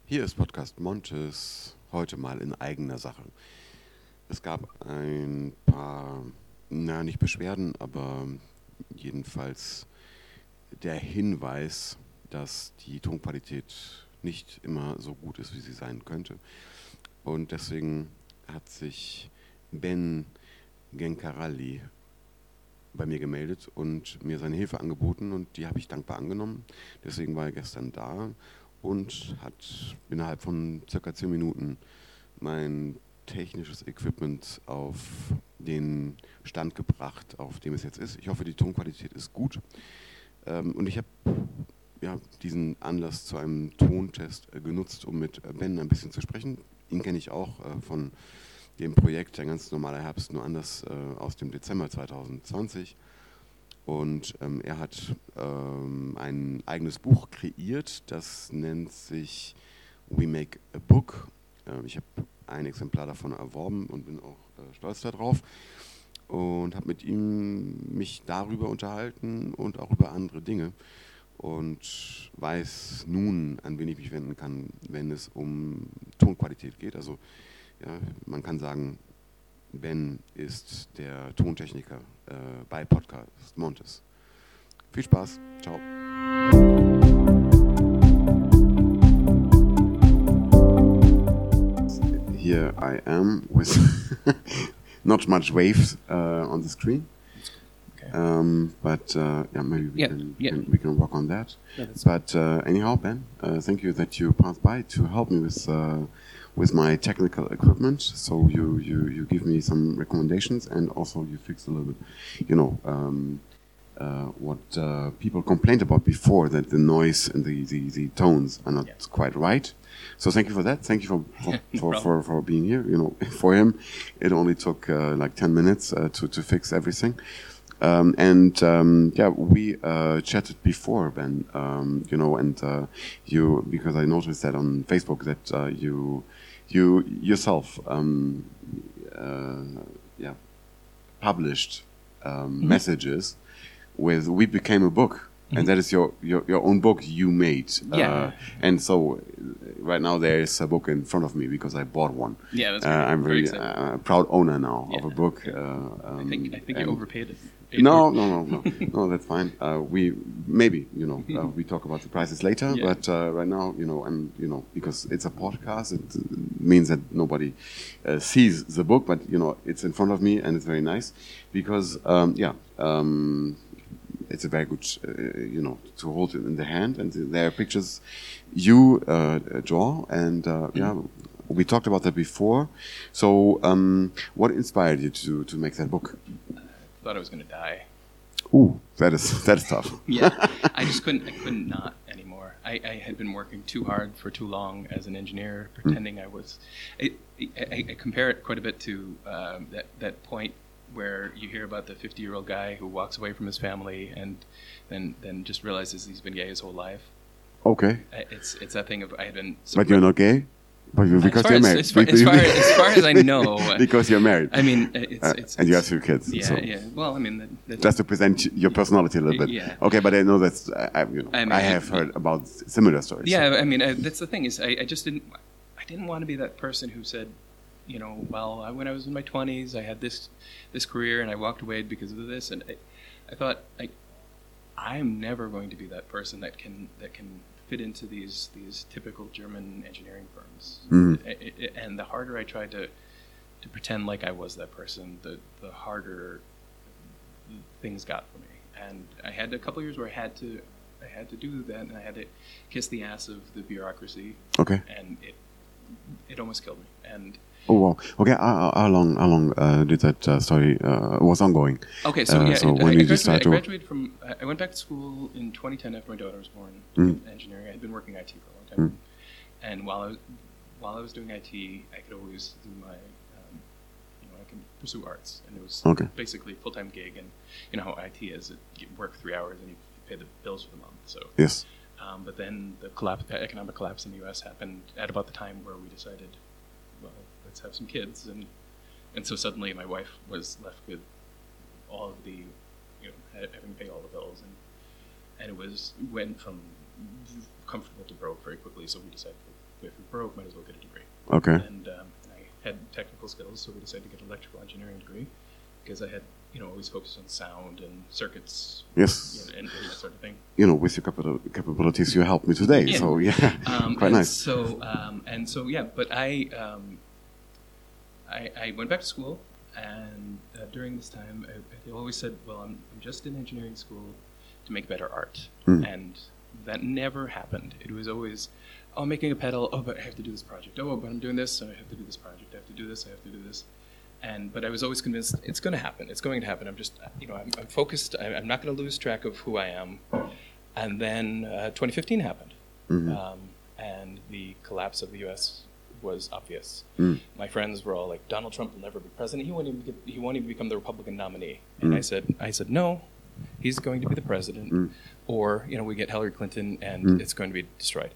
Hier ist Podcast Montes, heute mal in eigener Sache. Es gab ein paar, nicht Beschwerden, aber jedenfalls der Hinweis, dass die Tonqualität nicht immer so gut ist, wie sie sein könnte. Und deswegen hat sich Ben Genkaralli bei mir gemeldet und mir seine Hilfe angeboten und die habe ich dankbar angenommen. Deswegen war er gestern da und hat innerhalb von circa 10 Minuten mein technisches Equipment auf den Stand gebracht, auf dem es jetzt ist. Ich hoffe, die Tonqualität ist gut. Und ich habe diesen Anlass zu einem Tontest genutzt, um mit Ben ein bisschen zu sprechen. Ihn kenne ich auch von dem Projekt Der ganz normale Herbst, nur anders aus dem Dezember 2020. Und er hat ein eigenes Buch kreiert, das nennt sich We Make a Book. Ich habe ein Exemplar davon erworben und bin auch stolz darauf. Und habe mit ihm mich darüber unterhalten und auch über andere Dinge. Und weiß nun, an wen ich mich wenden kann, wenn es um Tonqualität geht. Also ja, man kann sagen, Ben ist der Tontechniker bei Podcast Montes. Viel Spaß, ciao. Here I am with not much waves on the screen. Okay. But maybe we can work on that. Yeah, that's But anyhow, Ben, thank you that you passed by to help me with my technical equipment. So you give me some recommendations and also you fix a little bit, what people complained about before, that the noise and the tones are not quite right. So thank you for that. Thank you for being here. For him, it only took like 10 minutes to fix everything. We chatted before, Ben, you, because I noticed that on Facebook that you yourself published messages with We Became a Book, and that is your own book you made. And so right now there is a book in front of me because I bought one. Yeah, that's I'm very proud owner now of a book. I think you overpaid it. No, that's fine. We talk about the prices later, but right now, because it's a podcast, it means that nobody sees the book, but it's in front of me and it's very nice because it's a very good to hold it in the hand, and there are pictures you draw, and we talked about that before. So what inspired you to make that book? Thought I was going to die. Ooh, that is tough. Yeah, I couldn't not anymore. I had been working too hard for too long as an engineer, pretending I was. I compare it quite a bit to that point where you hear about the 50-year-old guy who walks away from his family and then just realizes he's been gay his whole life. Okay. It's that thing of I had been. But you're not gay. Because you're married. As far as I know. Because you're married. I mean, it's and you have 2 kids. Yeah, so. yeah. Well, I mean, just to present your personality a little bit. Yeah. Okay, but I know that's I have heard about similar stories. Yeah, so. I mean, that's the thing is I just didn't want to be that person who said, well, when I was in my 20s, I had this career and I walked away because of this, and I thought I'm never going to be that person that can fit into these typical German engineering firms. Mm-hmm. And the harder I tried to pretend like I was that person, the harder things got for me. And I had a couple of years where I had to do that, and I had to kiss the ass of the bureaucracy. Okay. And it almost killed me. And oh wow. Okay. How long did that story was ongoing? Okay. So when did you start to? I graduated from. I went back to school in 2010 after my daughter was born. In engineering. I had been working IT for a long time, and while I was doing IT, I could always do my. I can pursue arts, and it was basically a full-time gig. And you know how IT is: you work 3 hours and you pay the bills for the month. So yes. But then the economic collapse in the U.S. happened at about the time where we decided, well, let's have some kids, and so suddenly my wife was left with all of the, having to pay all the bills, and it went from comfortable to broke very quickly. So we decided if you're broke, might as well get a degree. Okay. And I had technical skills, so we decided to get an electrical engineering degree because I had, always focused on sound and circuits. Yes. And that sort of thing. With your capabilities, you helped me today. Yeah. So quite nice. So yeah, but I went back to school, and during this time, I always said, well, I'm just in engineering school to make better art, and that never happened. It was always, oh, I'm making a pedal. Oh, but I have to do this project. Oh, but I'm doing this, so I have to do this project. I have to do this. I have to do this. But I was always convinced it's going to happen. It's going to happen. I'm just, I'm focused. I'm not going to lose track of who I am. And then 2015 happened, and the collapse of the U.S. was obvious. My friends were all like, Donald Trump will never be president. He won't even become the Republican nominee. And I said, no, he's going to be the president, or we get Hillary Clinton, and it's going to be destroyed.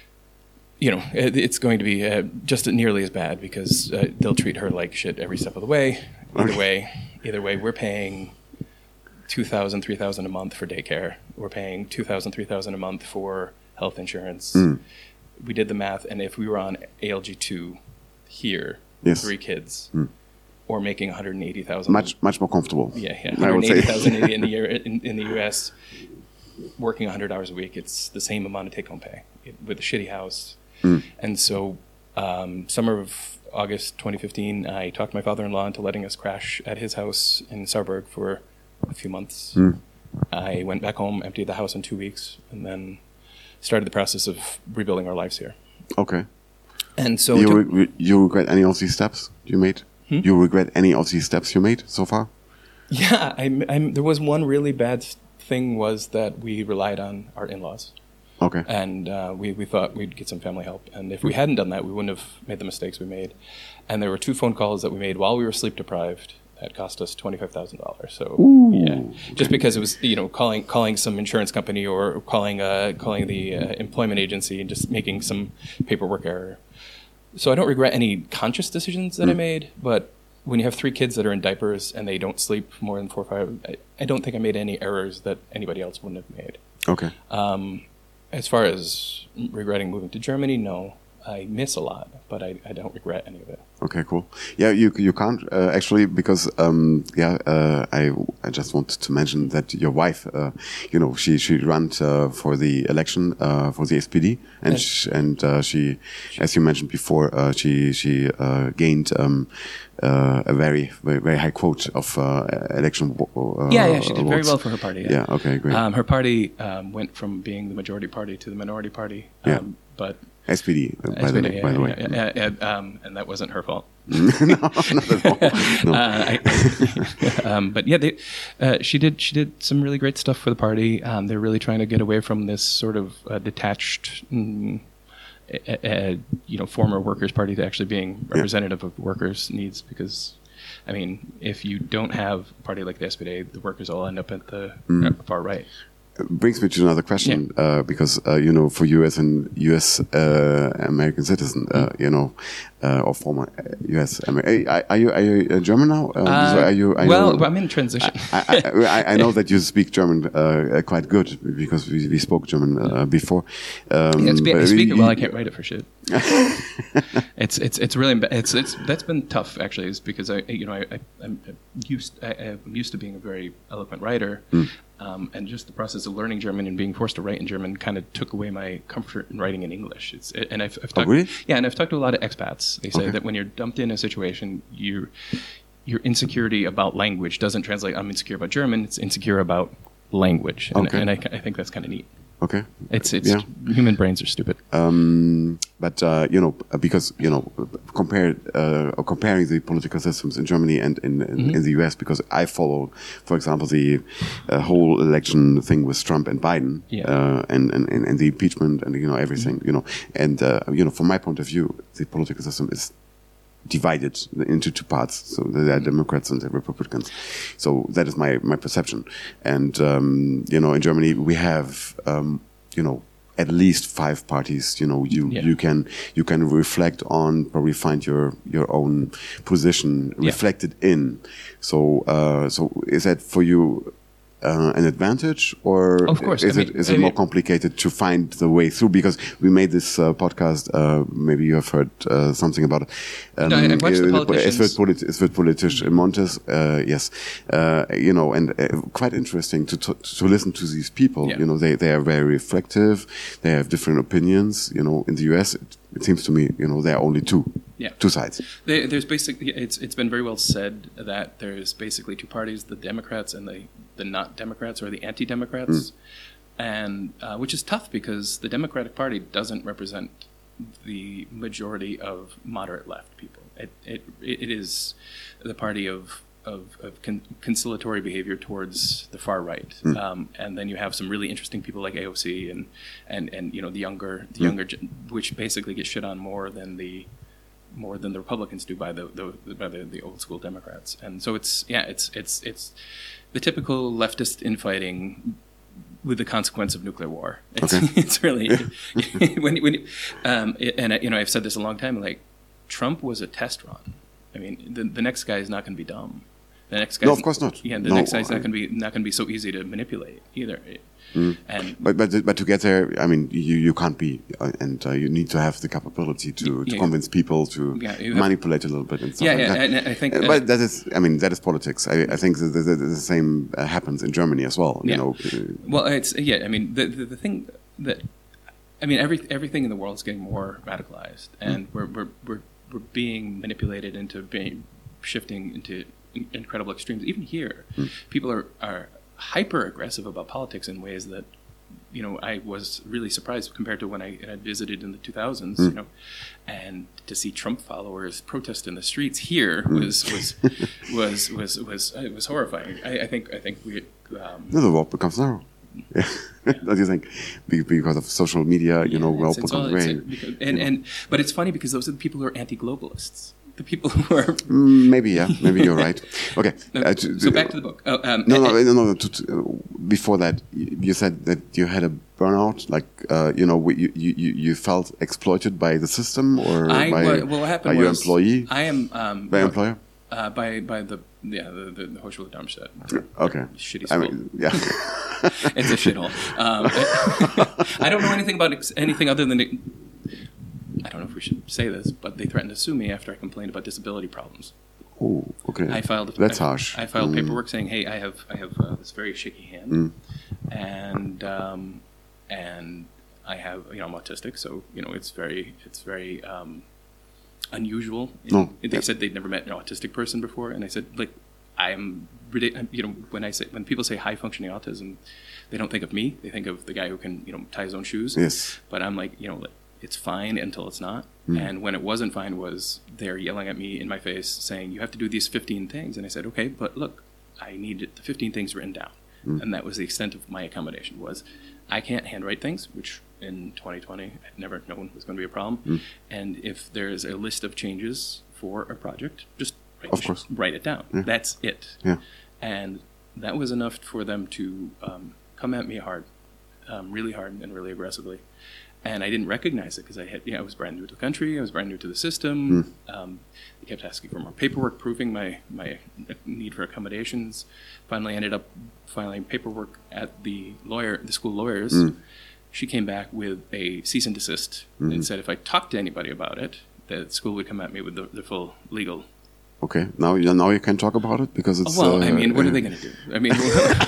It's going to be just nearly as bad because they'll treat her like shit every step of the way. Either way, we're paying $2,000, $3,000 a month for daycare. We're paying $2,000, $3,000 a month for health insurance. We did the math, and if we were on ALG2 here, 3 kids, or making $180,000, much more comfortable. Yeah, $180,000 in the year in the U.S. Working 100 hours a week, it's the same amount of take-home pay with a shitty house. And so, summer of August 2015, I talked my father-in-law into letting us crash at his house in Saarburg for a few months. I went back home, emptied the house in 2 weeks, and then started the process of rebuilding our lives here. Okay. And so, you regret any of these steps you made? You regret any of these steps you made so far? Yeah, there was one really bad thing was that we relied on our in-laws. Okay. And we thought we'd get some family help. And if we hadn't done that, we wouldn't have made the mistakes we made. And there were 2 phone calls that we made while we were sleep deprived that cost us $25,000. So just because it was calling some insurance company or calling the employment agency and just making some paperwork error. So I don't regret any conscious decisions that I made, but when you have 3 kids that are in diapers and they don't sleep more than 4 or 5, I don't think I made any errors that anybody else wouldn't have made. Okay. As far as regretting moving to Germany, no. I miss a lot, but I don't regret any of it. Okay, cool. Yeah, you can't actually because I just wanted to mention that your wife, she ran for the election for the SPD, and she, as you mentioned before, she gained a very, very, very high quote of election. She did very well for her party. Yeah, okay, great. Her party went from being the majority party to the minority party, but. SPD, by the way. And that wasn't her fault. No, not at all. No. But yeah, she did some really great stuff for the party. They're really trying to get away from this sort of detached, former workers' party to actually being representative of workers' needs. Because, I mean, if you don't have a party like the SPD, the workers all end up at the far right. Brings me to another question, because for you as an U.S. American citizen, or former U.S. are you German now? I'm in transition. I know that you speak German quite good because we spoke German before. I speak it well. I can't write it for shit. It's really that's been tough actually. Is because I'm used to being a very eloquent writer. And just the process of learning German and being forced to write in German kind of took away my comfort in writing in English. I've talked, really? Yeah, and I've talked to a lot of expats. They say that when you're dumped in a situation, your insecurity about language doesn't translate. I'm insecure about German. It's insecure about language, and I think that's kind of neat. Okay. It's human brains are stupid. But because comparing the political systems in Germany and in the US, because I followed, for example, the whole election thing with Trump and Biden, and the impeachment and everything, and from my point of view, the political system is divided into 2 parts. So there are Democrats and the Republicans. So that is my perception. And, in Germany, we have, at least 5 parties. You can reflect on, probably find your own position reflected in. So is that for you an advantage, or of course. is it more complicated to find the way through? Because we made this podcast. Maybe you have heard something about it. No, I watched the politicians. Es wird politisch. Montes, yes, you know, and quite interesting to listen to these people. Yeah. You know, they are very reflective. They have different opinions. You know, in the US, it seems to me, you know, there are only two sides. There's basically, it's been very well said that there's basically two parties: the Democrats and the not Democrats, or the anti-Democrats, and which is tough because the Democratic Party doesn't represent the majority of moderate left people. It is the party of conciliatory behavior towards the far right, and then you have some really interesting people like AOC and you know the younger which basically get shit on more than the Republicans do by the old school Democrats, and so it's the typical leftist infighting with the consequence of nuclear war. It's really and you know, I've said this a long time. Like, Trump was a test run. I mean, the next guy is not going to be dumb. The next guy, no, of course not. Yeah, the next guy's not going to be so easy to manipulate either. And but to get there, I mean, you can't be, and you need to have the capability to convince people to manipulate a little bit and stuff like that. And I think, but that is, I mean, that is politics. I think the same happens in Germany as well. You know. Well, it's I mean, the thing that, I mean, everything in the world is getting more radicalized, and we're being manipulated into shifting into incredible extremes. Even here, people are hyper aggressive about politics in ways that, you know, I was really surprised compared to when I had visited in the 2000s. You know, and to see Trump followers protest in the streets here was horrifying. I think we. The world becomes narrow. Yeah, what do you think? Because of social media, you know, well, but it's funny because those are the people who are anti-globalists. The people who are maybe you're right. Okay, so back to the book. No. Before that, you said that you had a burnout, like you know, you felt exploited by the system, or by your employee. I am by employer. By the Hochschule Darmstadt. Okay. Shitty school. I mean, yeah. It's a shithole. I don't know anything about anything other than I don't know if we should say this, but they threatened to sue me after I complained about disability problems. Oh, okay. That's harsh. I filed paperwork saying, "Hey, I have this very shaky hand, and I have, you know, I'm autistic, so, you know, it's very unusual." They said they'd never met an autistic person before, and I said, like, you know, when people say high functioning autism, they don't think of me. They think of the guy who can, you know, tie his own shoes. Yes. But I'm like, you know, it's fine until it's not. And when it wasn't fine was they're yelling at me in my face saying, "You have to do these 15 things." And I said, "Okay, but look, I need the 15 things written down." And that was the extent of my accommodation. Was I can't handwrite things, which in 2020 I'd never known was going to be a problem. And if there's a list of changes for a project, just write it down. Yeah. That's it. Yeah. And that was enough for them to come at me hard, really hard and really aggressively. And I didn't recognize it because I was brand new to the country. I was brand new to the system. They kept asking for more paperwork proving my need for accommodations. Finally, ended up filing paperwork at the school lawyers. She came back with a cease and desist and said if I talked to anybody about it, the school would come at me with the full legal. Okay, now you can talk about it because it's. Well, I mean, what are they going to do? I mean,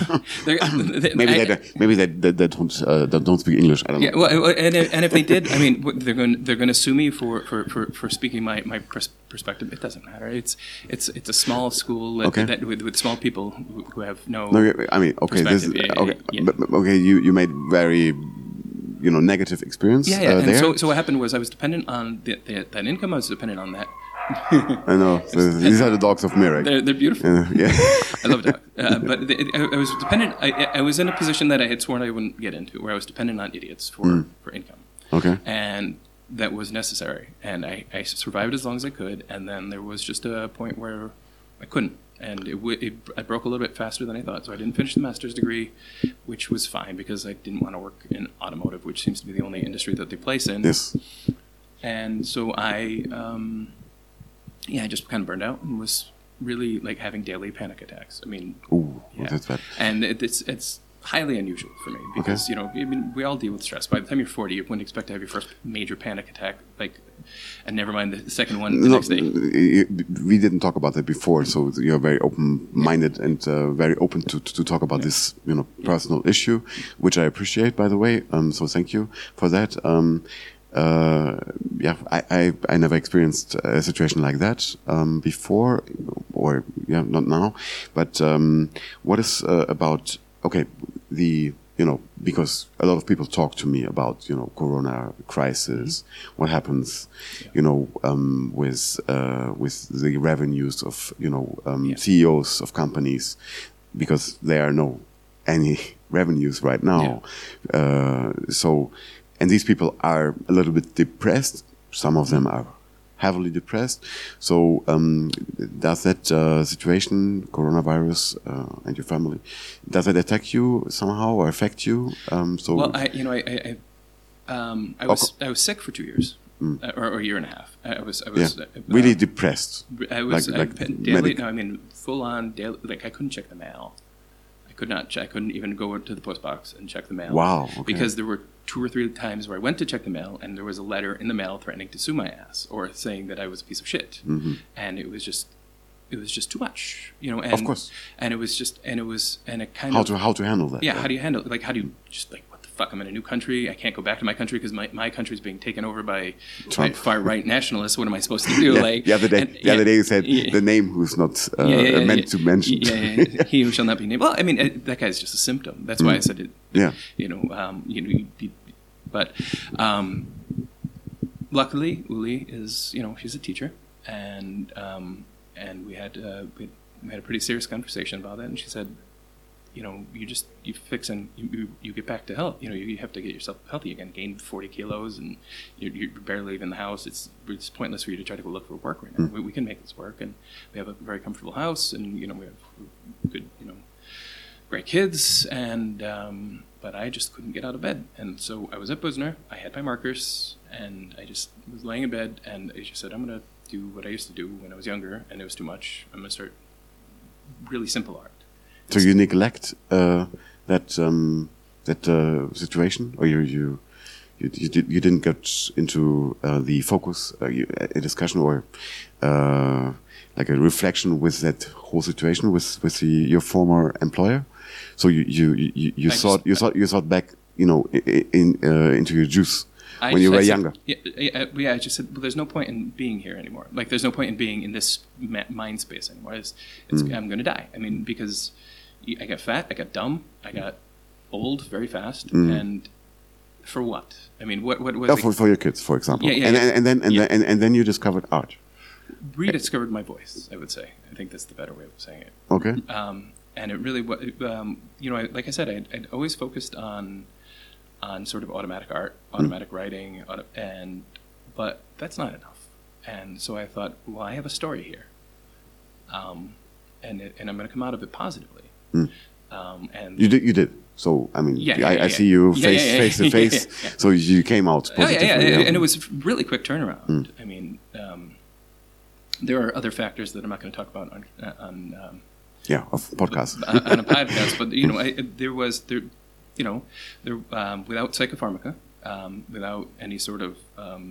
maybe they don't speak English. I don't know. Yeah, well, and if they did, I mean, they're going to sue me for speaking my perspective. It doesn't matter. It's a small school that with small people who have no. I mean, okay, okay. You made very, you know, negative experience. And there. So what happened was I was dependent on that income. I was dependent on that. I know. So these are the dogs of Mirek. They're beautiful. Yeah. I love dogs. But I was dependent. I was in a position that I had sworn I wouldn't get into, where I was dependent on idiots for income. Okay. And that was necessary. And I survived as long as I could. And then there was just a point where I couldn't. And I broke a little bit faster than I thought. So I didn't finish the master's degree, which was fine because I didn't want to work in automotive, which seems to be the only industry that they place in. Yes. And so I just kind of burned out and was really like having daily panic attacks. I mean, that's bad. And it's highly unusual for me because I mean, we all deal with stress. By the time you're 40, you wouldn't expect to have your first major panic attack, and never mind the second one the next day. We didn't talk about that before, so you're very open-minded and very open to talk about this, personal issue, which I appreciate, by the way. So thank you for that. I never experienced a situation like that before, or not now. But what is about because a lot of people talk to me about Corona crisis, what happens, with the revenues of CEOs of companies, because there are no any revenues right now. And these people are a little bit depressed. Some of them are heavily depressed. So does that situation, coronavirus, and your family, does it attack you somehow or affect you? Well, I was sick for 2 years. Or a year and a half. I was really depressed. I was daily. No, I mean full on daily. Like I couldn't check the mail. I couldn't even go to the post box and check the mail. Wow. Okay. Because there were 2 or 3 times where I went to check the mail and there was a letter in the mail threatening to sue my ass or saying that I was a piece of shit. Mm-hmm. And it was just too much, And, of course. And it kind of how to handle that? Yeah. How do you handle it? Like how do you just like, what the fuck? I'm in a new country. I can't go back to my country because my country is being taken over by far right nationalists. What am I supposed to do? The other day you said the name who's not meant to mention. He who shall not be named. Well, I mean that guy's just a symptom. That's why I said it. Yeah. But luckily Uli is she's a teacher, and we had a pretty serious conversation about that, and she said, you fix and you get back to health. You have to get yourself healthy again. Gained 40 kilos and you're barely leaving the house. It's pointless for you to try to go look for work right now. We can make this work, and we have a very comfortable house, and we have good great kids, and but I just couldn't get out of bed. And so I was at Busner. I had my markers, and I just was laying in bed, and I just said, I'm gonna do what I used to do when I was younger, and it was too much. I'm gonna start really simple art. So you neglect that situation, or you didn't get into the focus, a discussion, or like a reflection with that whole situation with your former employer. So you thought back, into your juice when you were younger. I just said, well, there's no point in being here anymore. Like, there's no point in being in this mind space anymore. I'm going to die. I mean, because I got fat, I got dumb, I got old very fast, and for what? I mean, what was for your kids, for example. And then you discovered art. Rediscovered my voice, I would say. I think that's the better way of saying it. Okay. And it really, like I said, I'd always focused on sort of automatic art, automatic writing, but that's not enough. And so I thought, well, I have a story here, and I'm going to come out of it positively. And you did. So I mean, I see you face to face. So you came out positively. And it was a really quick turnaround. I mean, there are other factors that I'm not going to talk about on of podcast on a podcast, but without psychopharmaca, without any sort of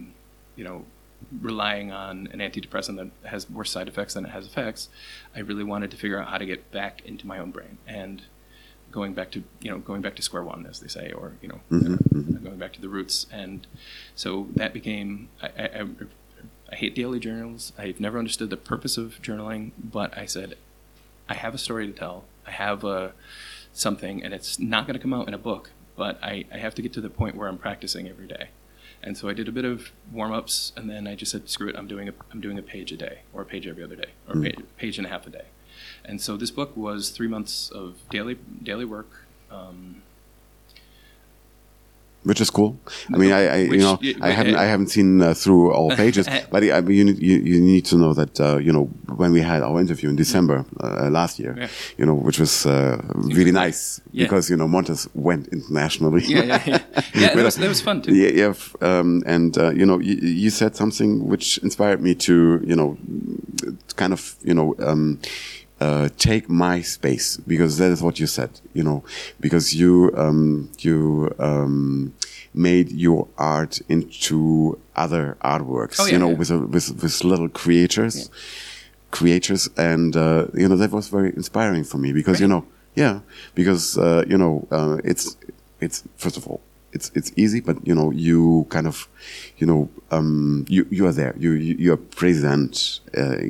relying on an antidepressant that has worse side effects than it has effects, I really wanted to figure out how to get back into my own brain and going back to square one, as they say, or going back to the roots. And so that became I hate daily journals. I've never understood the purpose of journaling, but I said, I have a story to tell. I have something, and it's not going to come out in a book, but I have to get to the point where I'm practicing every day. And so I did a bit of warm-ups, and then I just said, screw it, I'm doing a page a day, or a page every other day, or a page and a half a day. And so this book was 3 months of daily work. Which is cool. I mean, I haven't seen through all pages, but you need to know that when we had our interview in December last year, which was really nice because Montes went internationally. That was fun too. And you said something which inspired me to kind of, take my space, because that is what you said, because you made your art into other artworks, with little creators, and that was very inspiring for me, because it's first of all, it's easy, but you kind of you are there, you are present,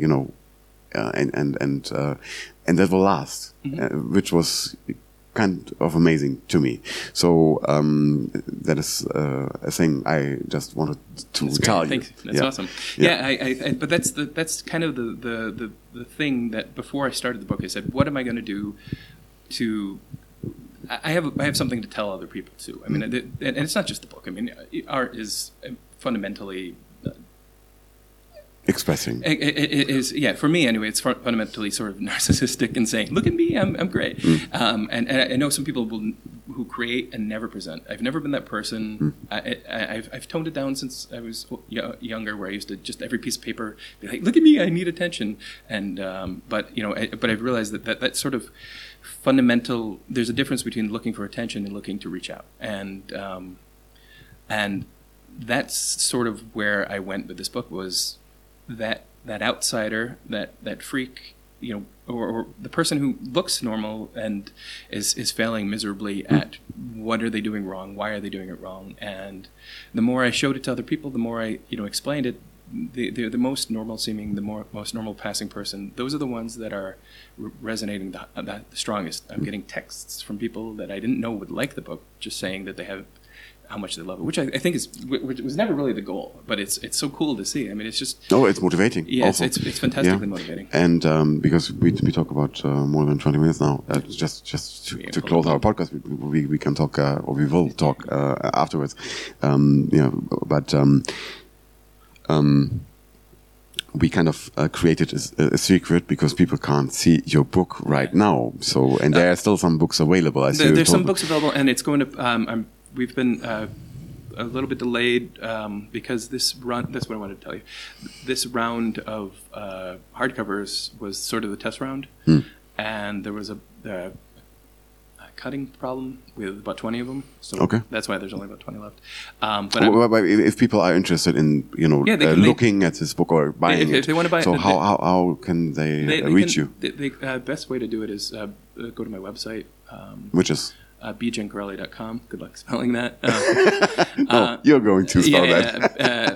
and that will last, which was kind of amazing to me. So that is a thing I just wanted to tell you. Thanks. That's awesome. Yeah, but that's kind of the thing that before I started the book, I said, what am I going to do to I have something to tell other people too. I mean, and it's not just the book. I mean, art is fundamentally expressing. It is, for me anyway. It's fundamentally sort of narcissistic and saying, "Look at me, I'm great." And I know some people who create and never present. I've never been that person. I've toned it down since I was younger, where I used to just every piece of paper be like, "Look at me, I need attention." And but I've realized that sort of fundamental. There's a difference between looking for attention and looking to reach out, and that's sort of where I went with this book, was that outsider, that freak, or the person who looks normal and is failing miserably at what are they doing wrong, why are they doing it wrong, and the more I showed it to other people, the more I explained it. The most normal seeming, most normal passing person, those are the ones that are resonating the strongest. I'm getting texts from people that I didn't know would like the book, just saying that they have how much they love it, which I think which was never really the goal, but it's so cool to see. I mean, it's just it's motivating. Yeah, it's fantastically motivating. And because we talk about more than 20 minutes now, just to close our podcast, we can talk or we will talk afterwards. But we kind of created a secret, because people can't see your book right now. So, and there are still some books available. There's some books available, and it's going to. We've been a little bit delayed because this run. That's what I wanted to tell you. This round of hardcovers was sort of the test round, and there was a cutting problem with about 20 of them. So that's why there's only about 20 left. But if people are interested in looking at this book or buying it, if they want to buy so it, how can they reach you? The best way to do it is go to my website, which is bjancarelli.com. Good luck spelling that. You're going to spell that.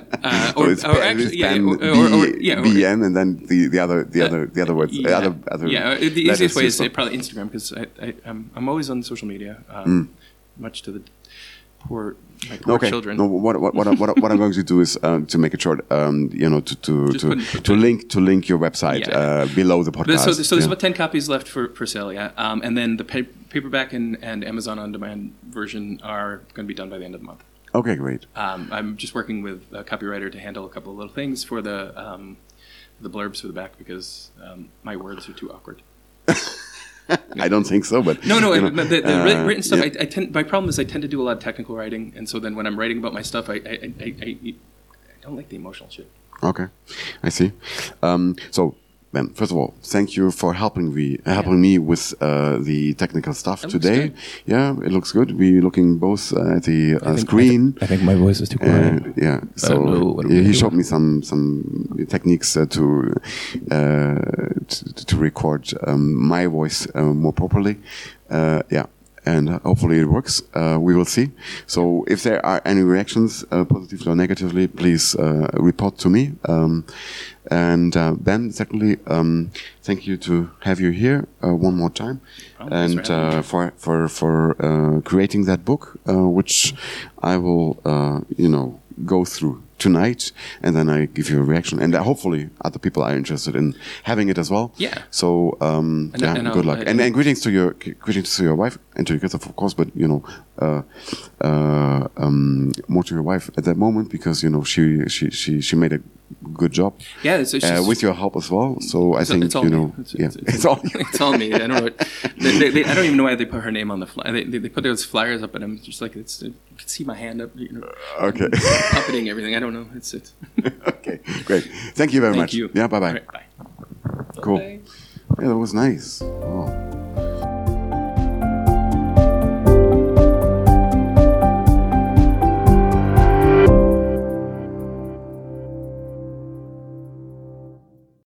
BN and then the other words. The easiest way is probably Instagram, because I'm always on social media, much to my poor children. No, what I'm going to do is to make it short. To link your website below the podcast. So there's about 10 copies left for sale. And then the paperback and Amazon on demand version are going to be done by the end of the month. Okay, great. I'm just working with a copywriter to handle a couple of little things for the blurbs for the back, because my words are too awkward. I don't think so, but no. The written stuff. My problem is I tend to do a lot of technical writing, and so then when I'm writing about my stuff, I don't like the emotional shit. Okay, I see. So Ben, first of all, thank you for helping me with the technical stuff today. Yeah, it looks good. We're looking both at the screen. I think my voice is too quiet. Yeah, so he showed me some techniques to record my voice more properly. And hopefully it works. We will see. So if there are any reactions, positively or negatively, please report to me. And Ben, secondly, thank you to have you here one more time, and for creating that book, which I will go through tonight, and then I give you a reaction, and hopefully other people are interested in having it as well. Yeah. So good luck, and greetings to your wife and to your kids, of course, but more to your wife at that moment, because she made a good job. Yeah, with your help as well. So I think it's all me. It's all me. I don't know what. I don't even know why they put her name on the flyer. They put those flyers up, and I'm just like, you can see my hand up. Okay. Puppeting everything. I don't know. It's Okay, great. Thank you very much. Thank you. Yeah. Bye-bye. All right, bye. Cool. Sunday. Yeah, that was nice. Oh.